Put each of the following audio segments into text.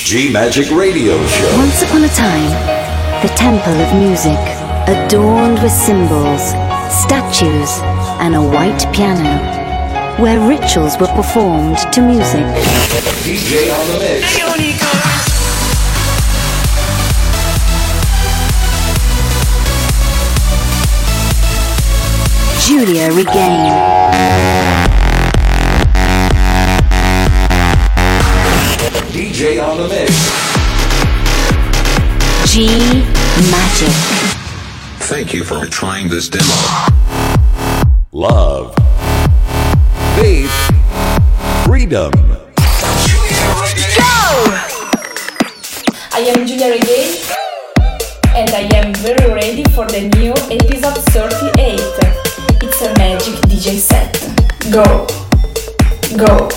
G Magic Radio Show. Once upon a time, the temple of music, adorned with symbols, statues, and a white piano, where rituals were performed to music. DJ on the mix. Giulia Regain. DJ on the mix. G Magic. Thank you for trying this demo. Love. Faith. Freedom. Go! I am Giulia Regain and I am very ready for the new episode 38. It's a magic DJ set. Go! Go!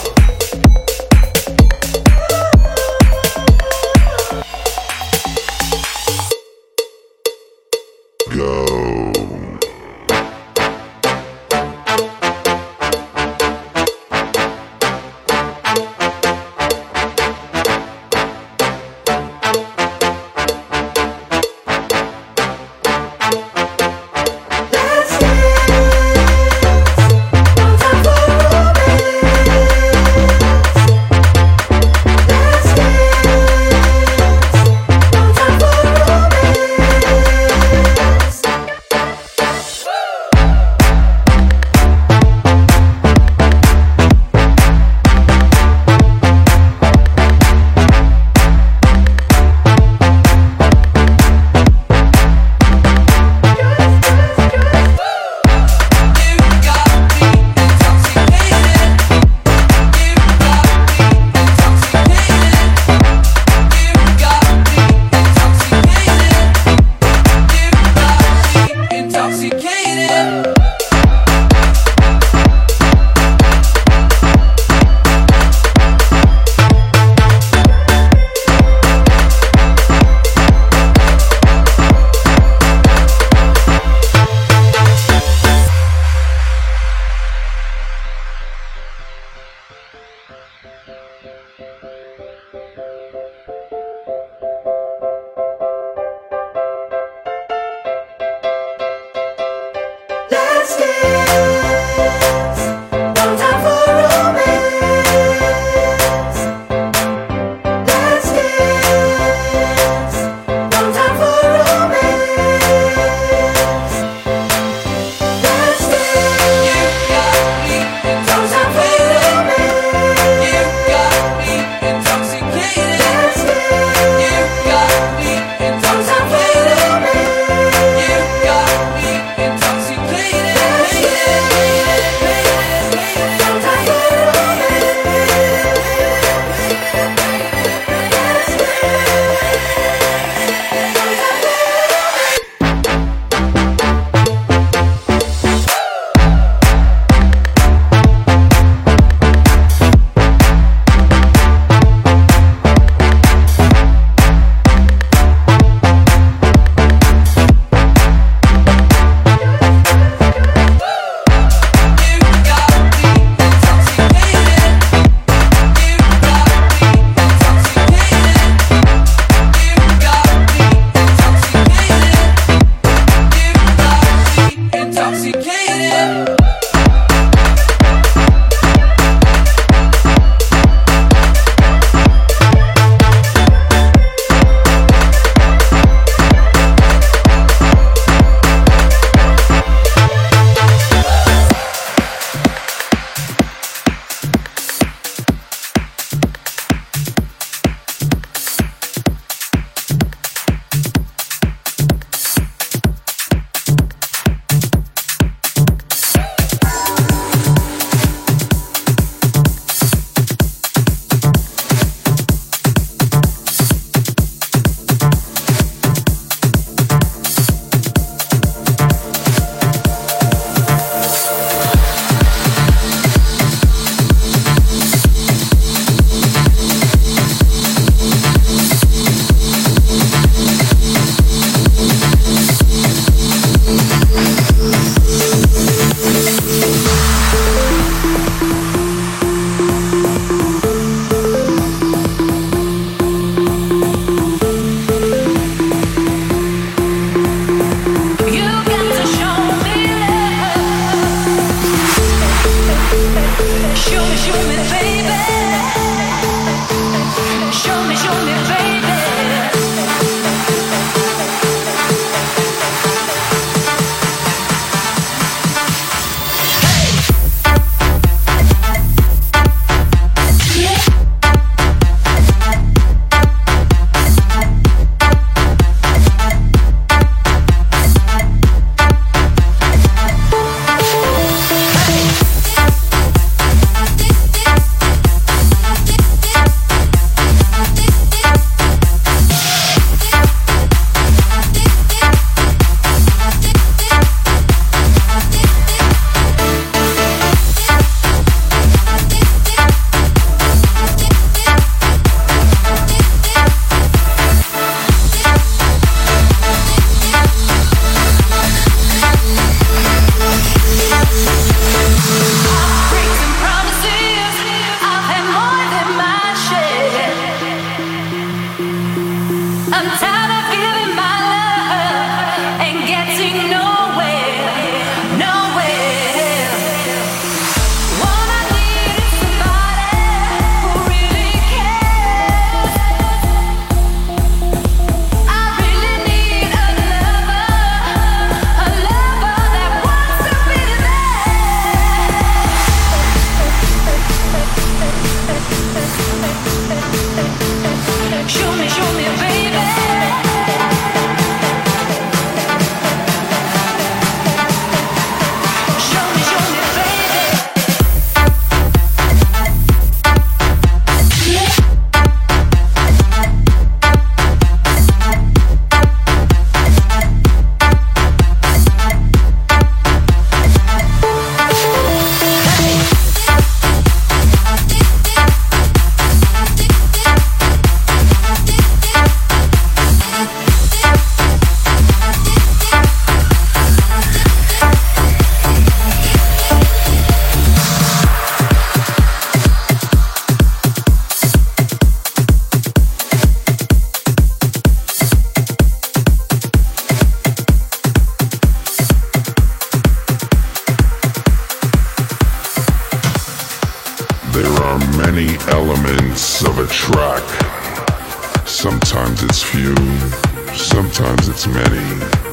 There are many elements of a track. Sometimes it's few, sometimes it's many.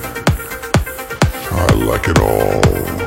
I like it all.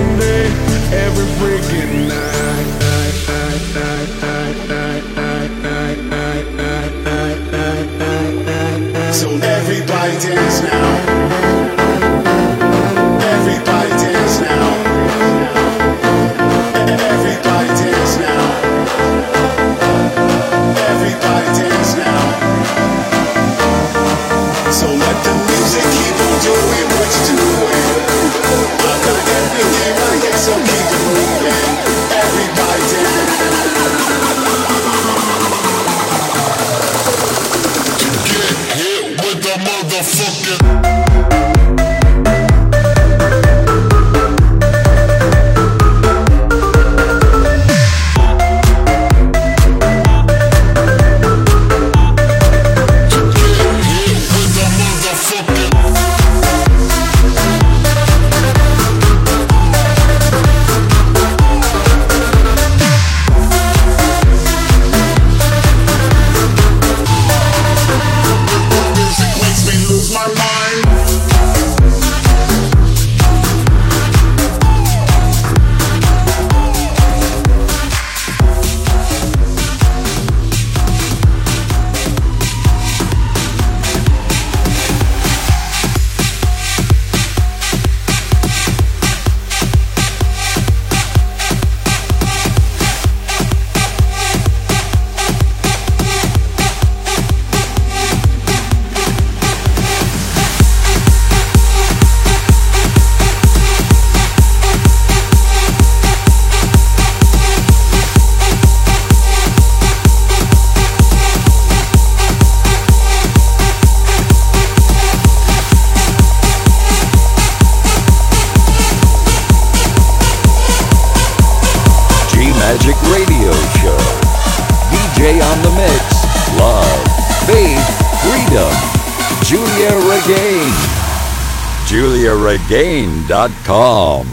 day, every freaking night. So everybody dance now. Everybody dance now. Everybody dance now. Everybody dance now. So let the music keep on doing what it's doing. I got everything right here, so keep it moving. Everybody dance. To get hit with the motherfucking. Magic Radio Show. DJ on the mix. Love, faith, freedom. Julia Regain. JuliaRegain.com.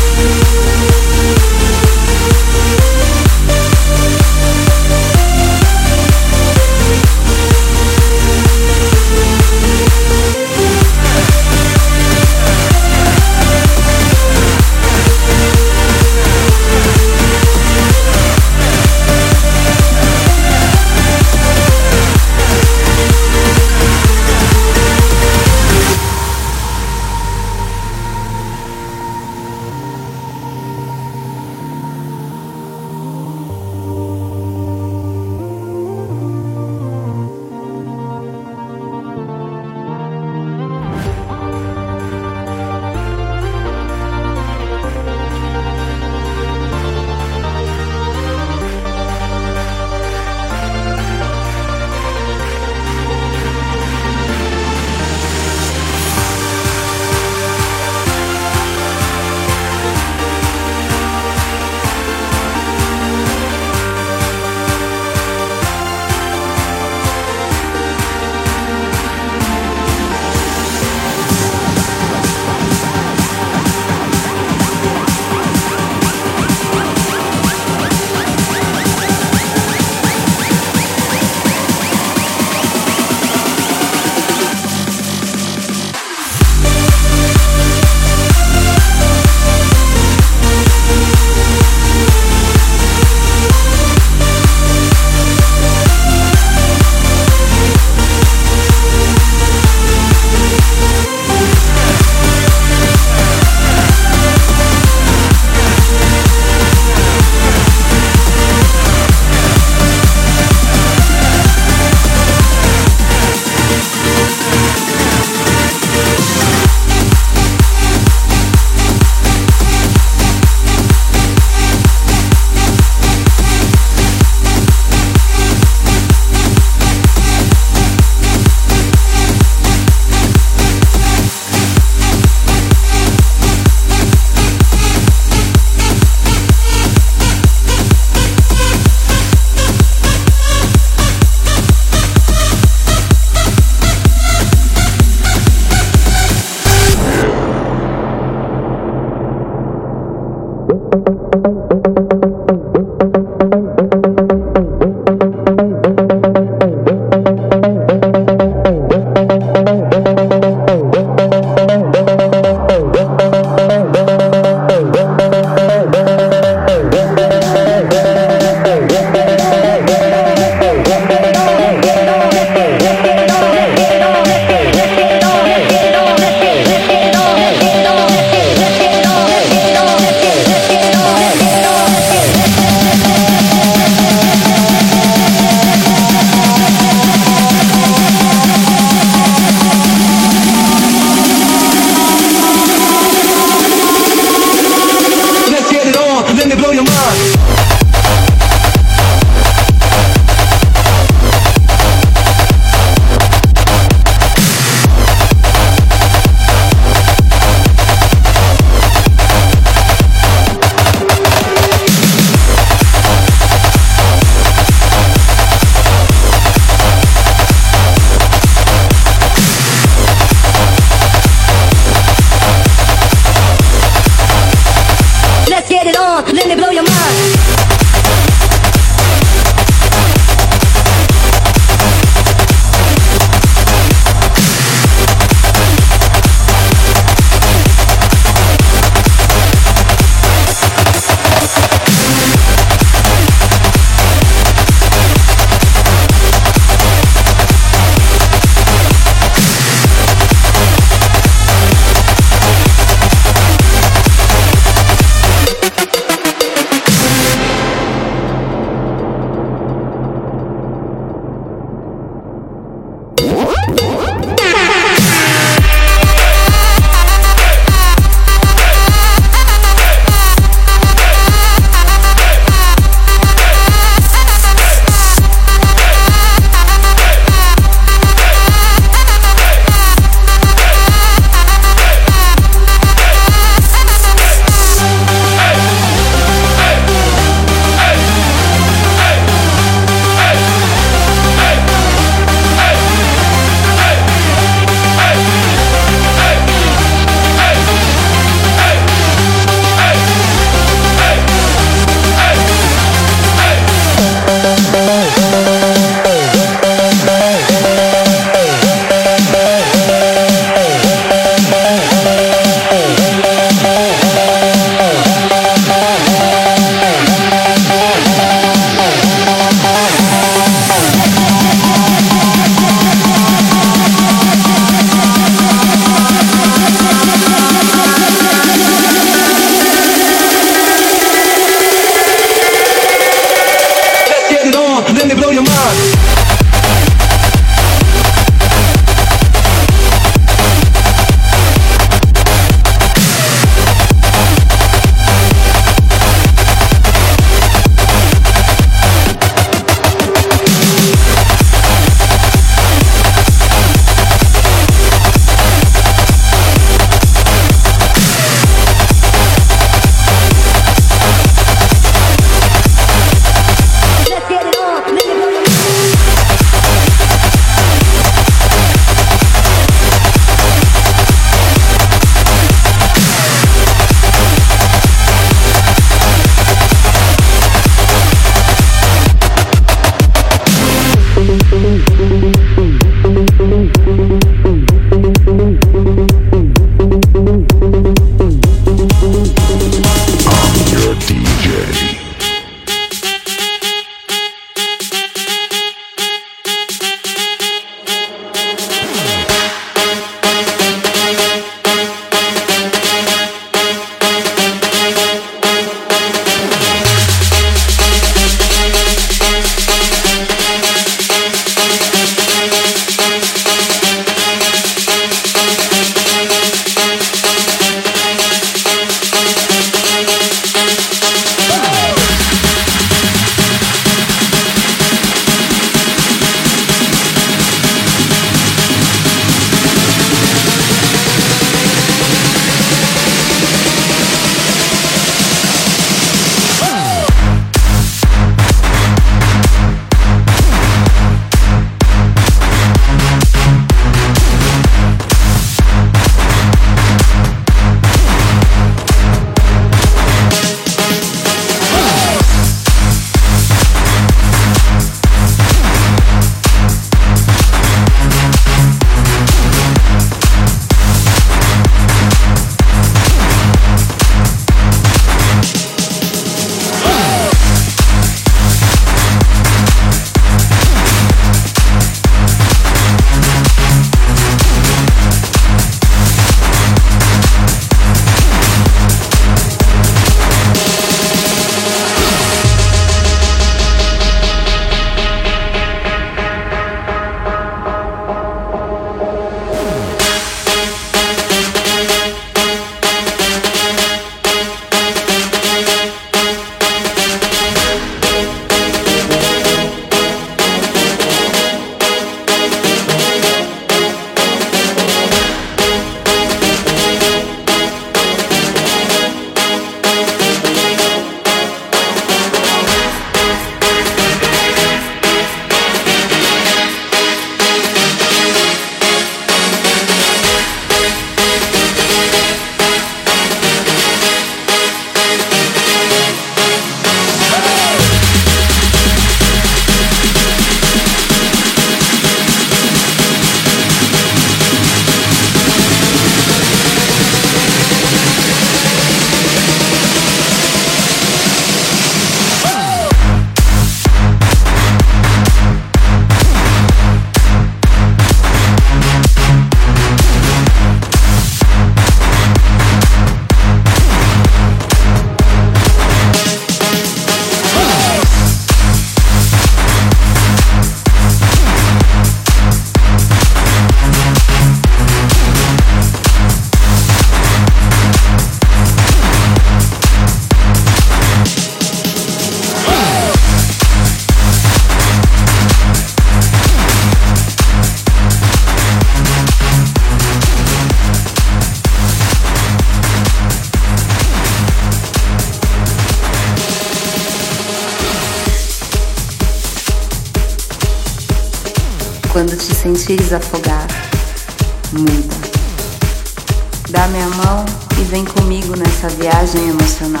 Quando te sentires afogar, muda. Dá-me a mão e vem comigo nessa viagem emocional.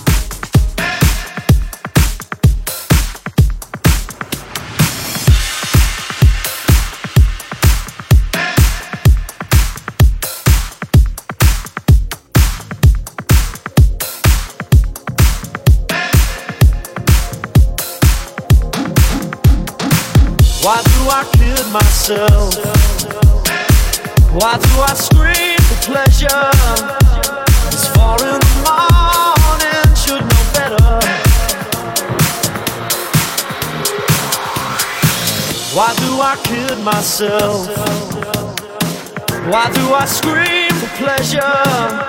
Why do I kid myself? Why do I scream for pleasure? It's 4 in the morning, should know better. Why do I kid myself? Why do I scream for pleasure?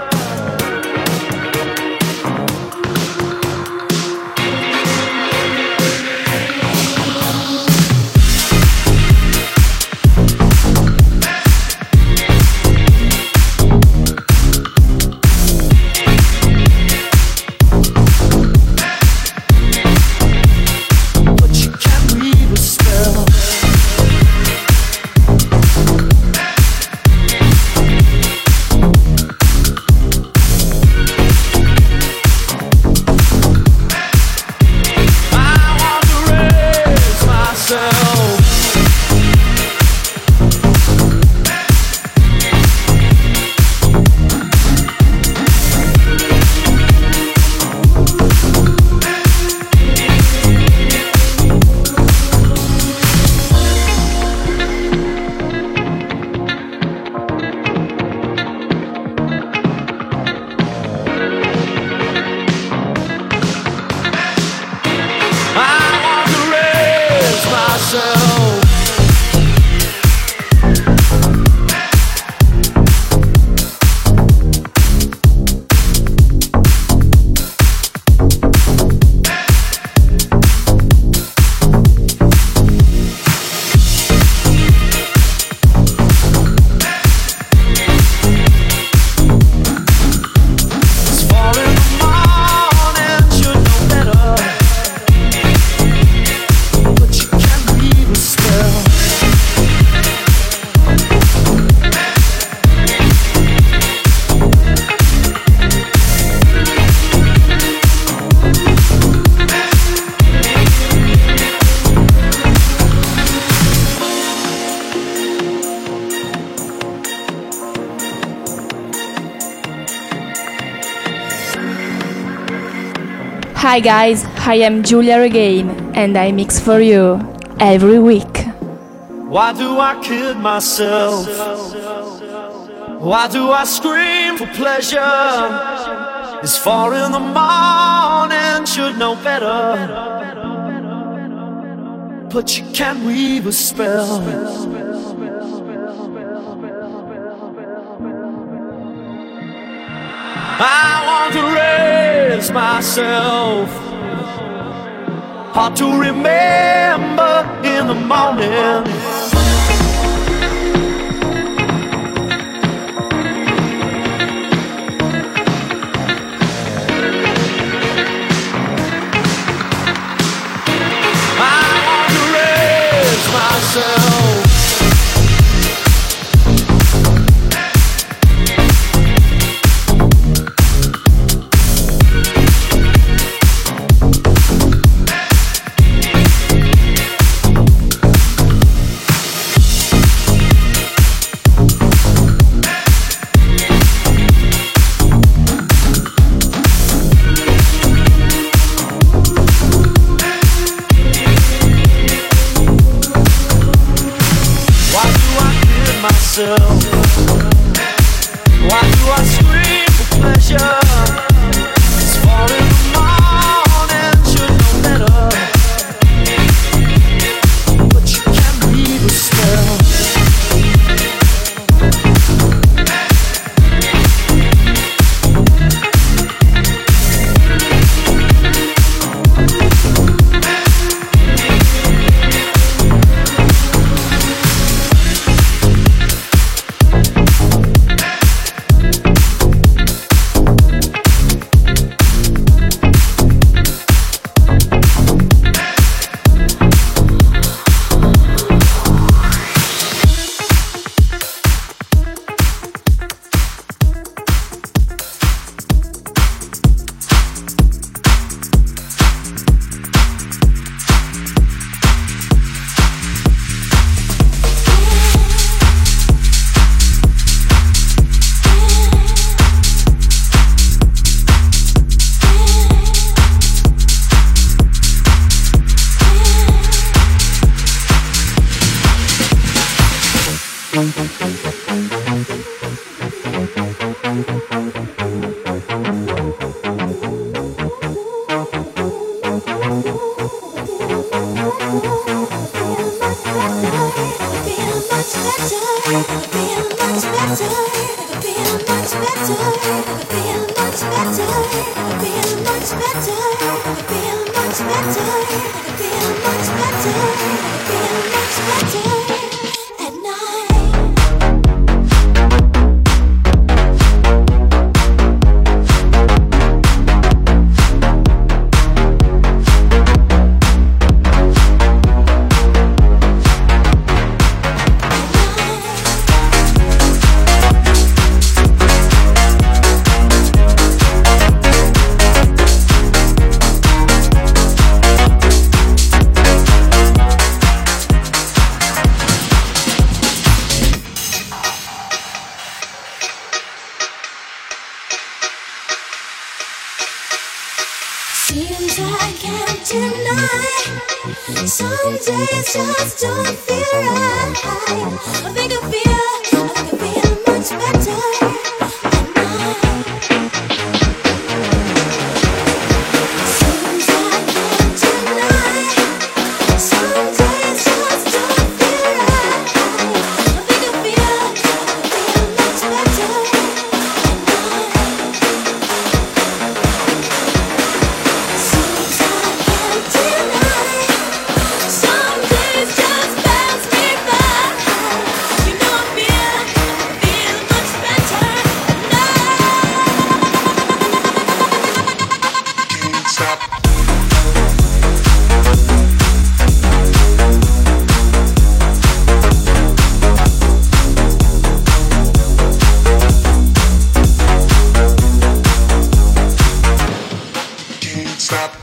Hi guys, I am Giulia Regain and I mix for you every week. Why do I kid myself? Why do I scream for pleasure? It's 4 in the morning, should know better. But you can't weave a spell. I want to raise myself, hard to remember in the morning. I want to raise myself. Seems I can't deny. Some days just don't feel right. I think I feel much better at night. Seems I can't deny. Some days just don't feel right. I think I feel much better at night. Seems I can't deny. Some days just pass me by. You know I feel much better at night. Can't stop. Can't stop.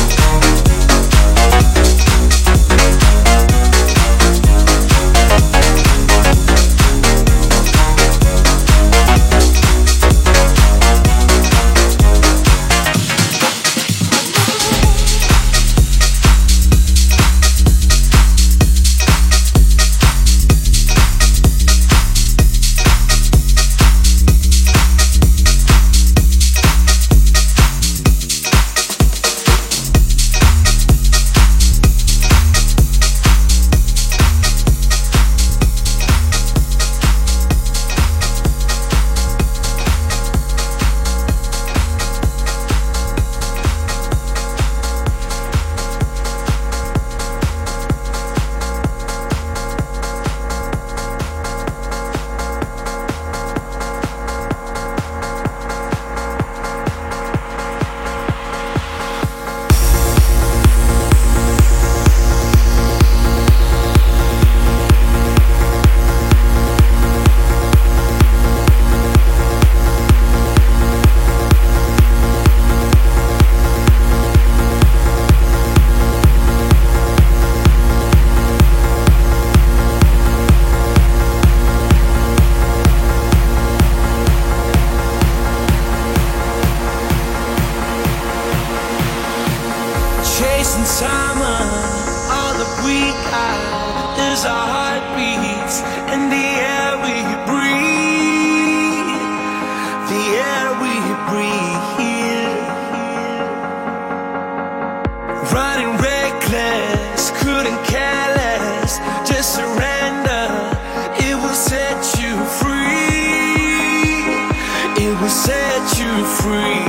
Chasing summer, all that we got is our heartbeats and the air we breathe, the air we breathe. Running reckless, couldn't care less, just surrender. It will set you free. It will set you free.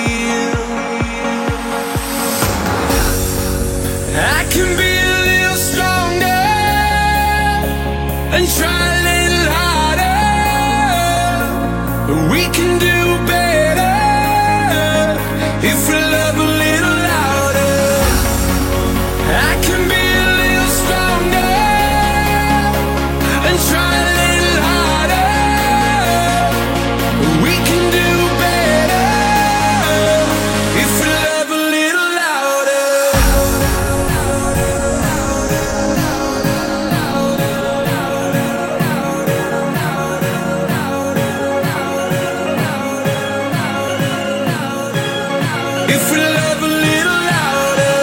I can be a little stronger and try a little harder. We can do better if we love a little louder. I can be a little stronger and try a little harder. We can do better if we love a little louder. If we love a little louder.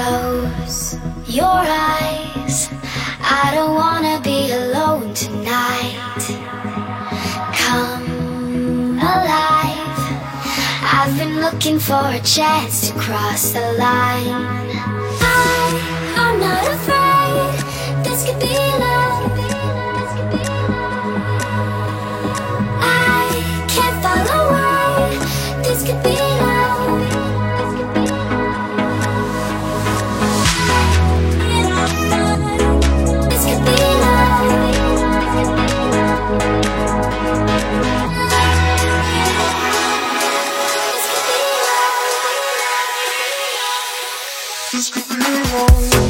Close your eyes. I don't wanna be alone tonight. Come alive. I've been looking for a chance to cross the line. I'm not afraid. This could be love. I can't fall away. This could be love. This could be love. This could be love.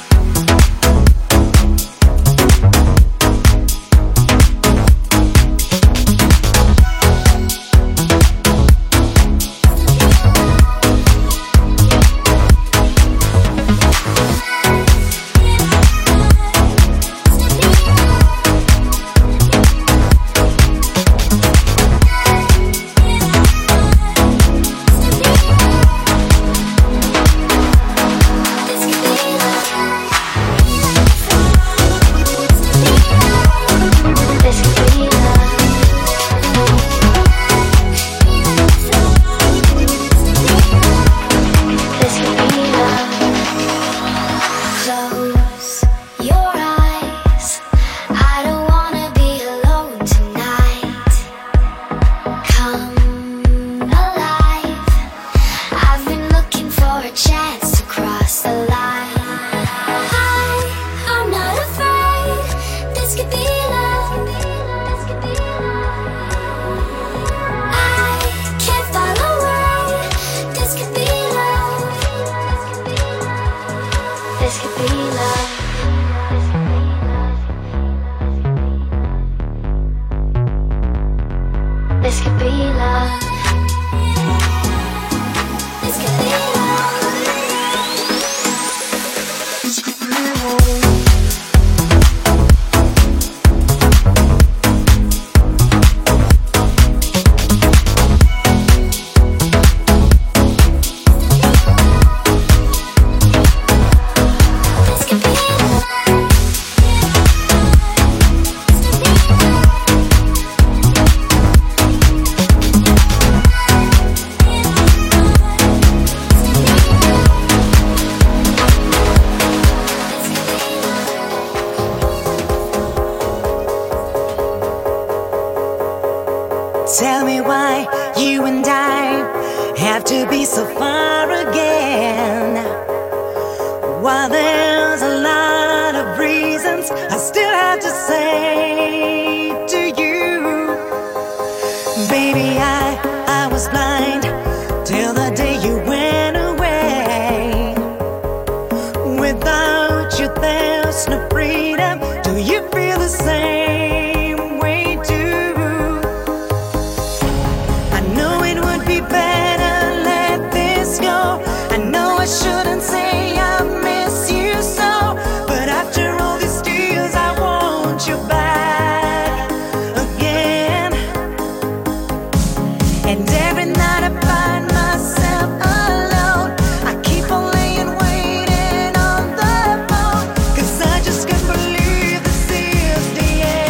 Tell me why you and I have to be so far again. While there's a lot of reasons I still have to say to you, baby, I was blind till the day you went away. Without you there's no freedom. Do you feel the same way too? I know it would be better let this go. I know I shouldn't say I miss you so, but after all these years I want you back again. And every night I find myself alone. I keep on laying waiting on the phone, 'cause I just can't believe this is the end.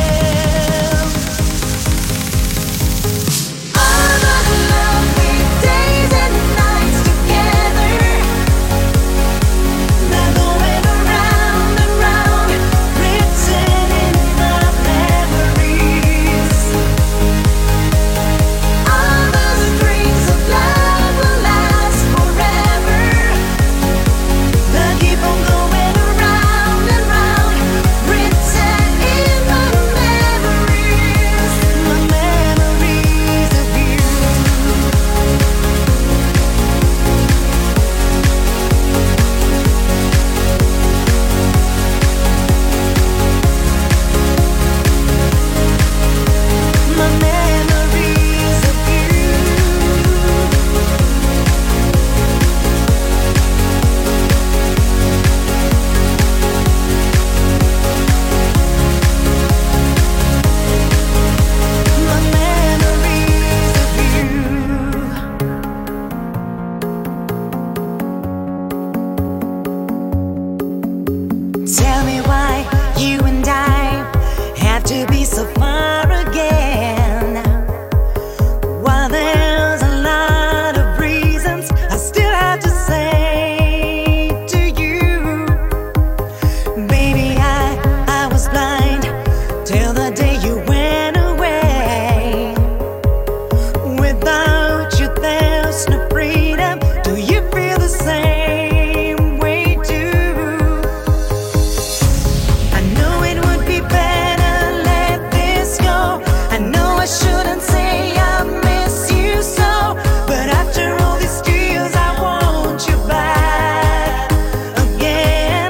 to be so far again. While there's a lot of reasons, I still have to say to you, baby, I was blind till the day you went away. Without you, there's no freedom. Do you feel the same way too? I know it would be better let this go. I know I shouldn't say I miss you so, but after all these years I want you back again.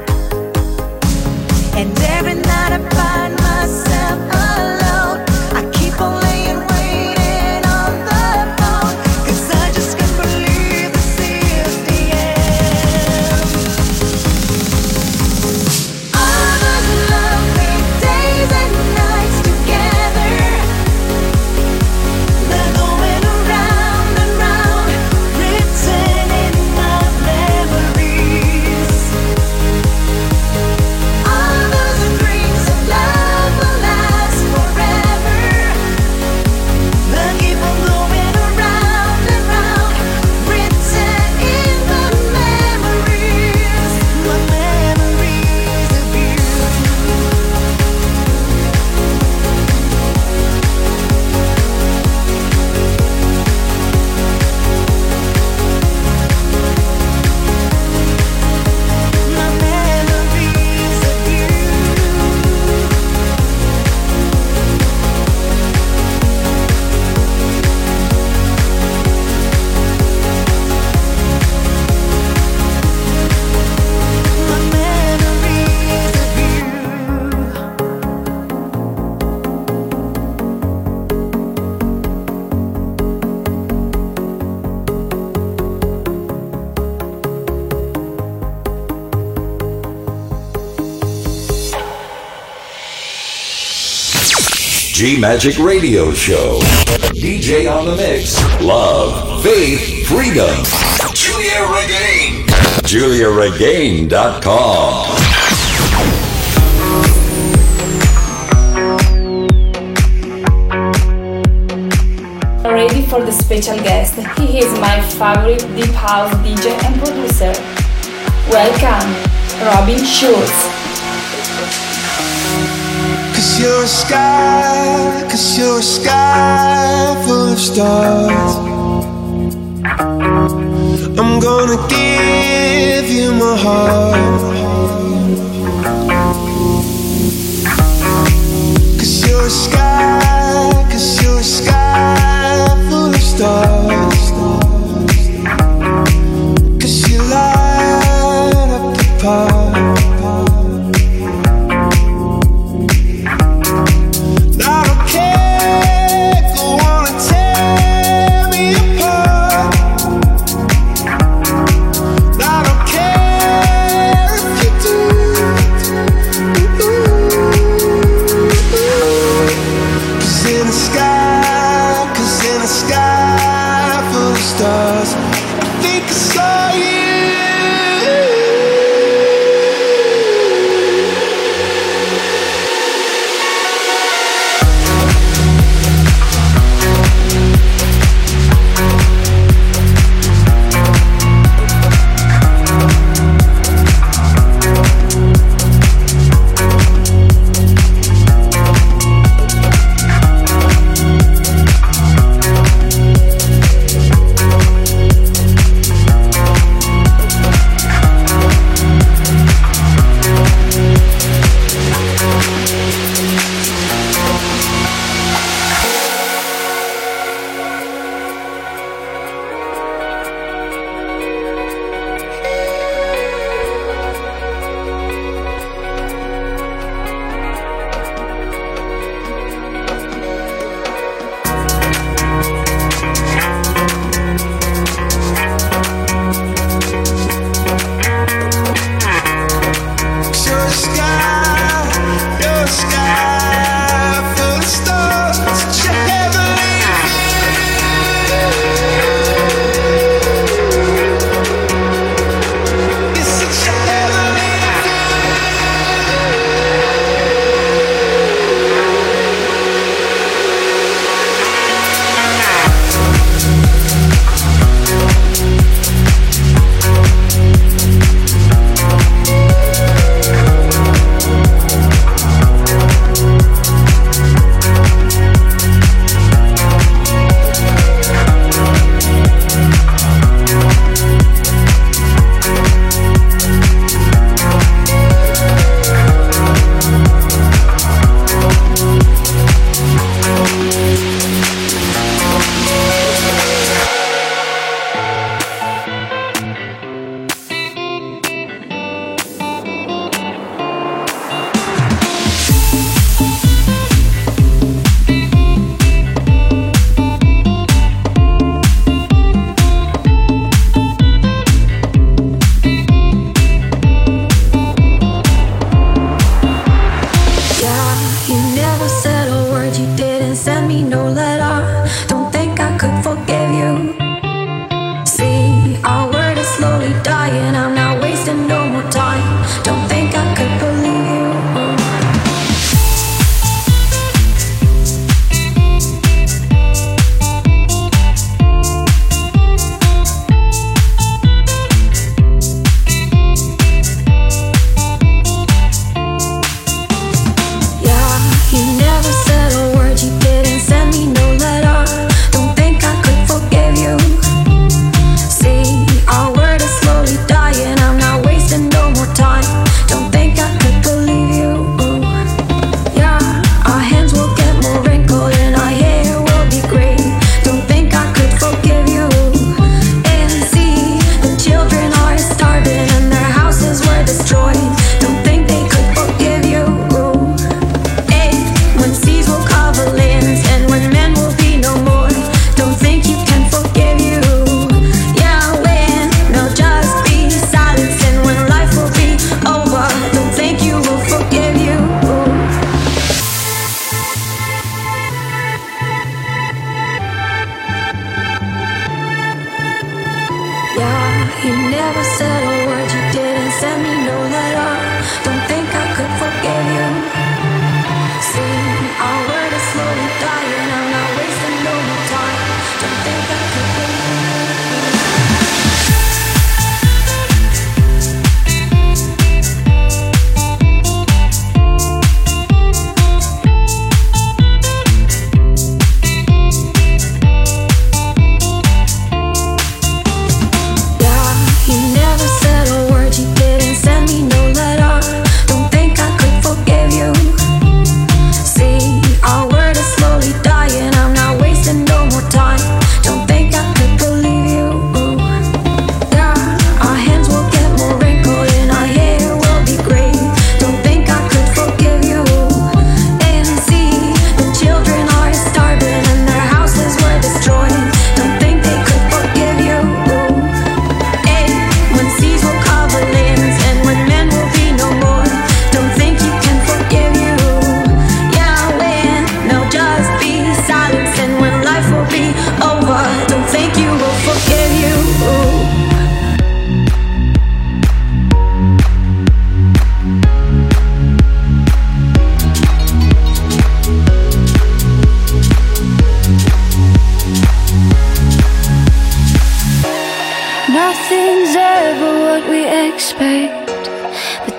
And every night I find myself alone. I keep on laying waiting on the phone, 'cause I just can't believe this is the end. All those lovely days and nights together, they're going around and round, written in my memories. All those dreams of love will last forever. They'll keep on going around and round, written in the memories, my memories of you. My memories of you. My memories of you. G Magic Radio Show. DJ on the mix. Love, faith, freedom. Julia Regain. JuliaRegain.com. Ready for the special guest. He is my favorite deep house DJ and producer. Welcome, Robin Schulz. Cause you're a sky full of stars. I'm gonna give you my heart. Cause you're a sky full of stars. Cause you light up the park. I don't care, go on and tear me apart. I don't care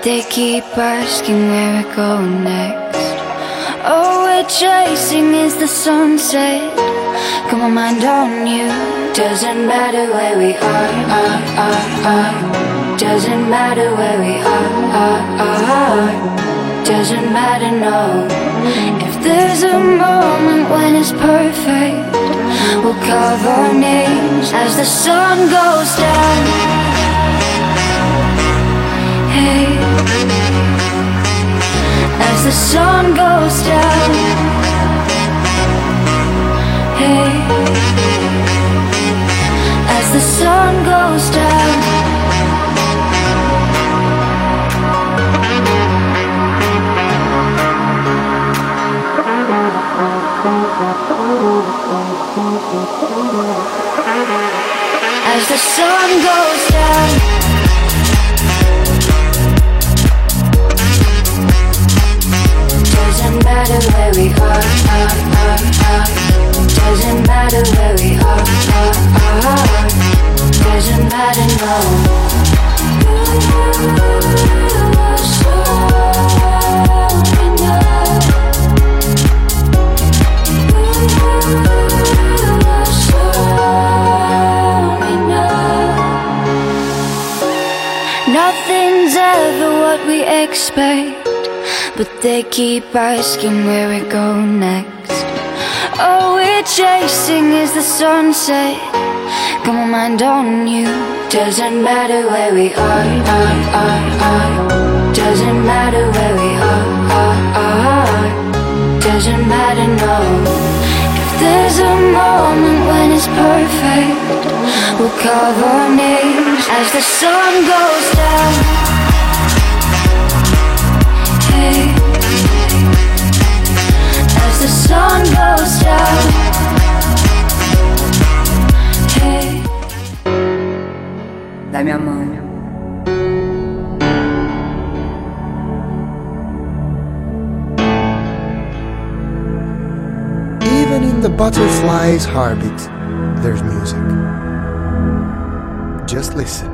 they keep asking where we're going next. All we're chasing is the sunset. Got my mind on you. Doesn't matter where we are. Doesn't matter where we are. Doesn't matter, no. If there's a moment when it's perfect, we'll carve our names as the sun goes down. Hey, as the sun goes down. Hey, as the sun goes down. As the sun goes down. Doesn't matter where we are. Doesn't matter where we are. Doesn't matter, no. Nothing's ever what we expect, but they keep asking where we go next. All we're chasing is the sunset. Got my mind on you. Doesn't matter where we are. Doesn't matter where we are. Doesn't matter, no. If there's a moment when it's perfect, we'll carve our names as the sun goes down. Hey, as the sun goes down. Hey. Dai minha mão. Even in the butterfly's heartbeat, there's music. Just listen.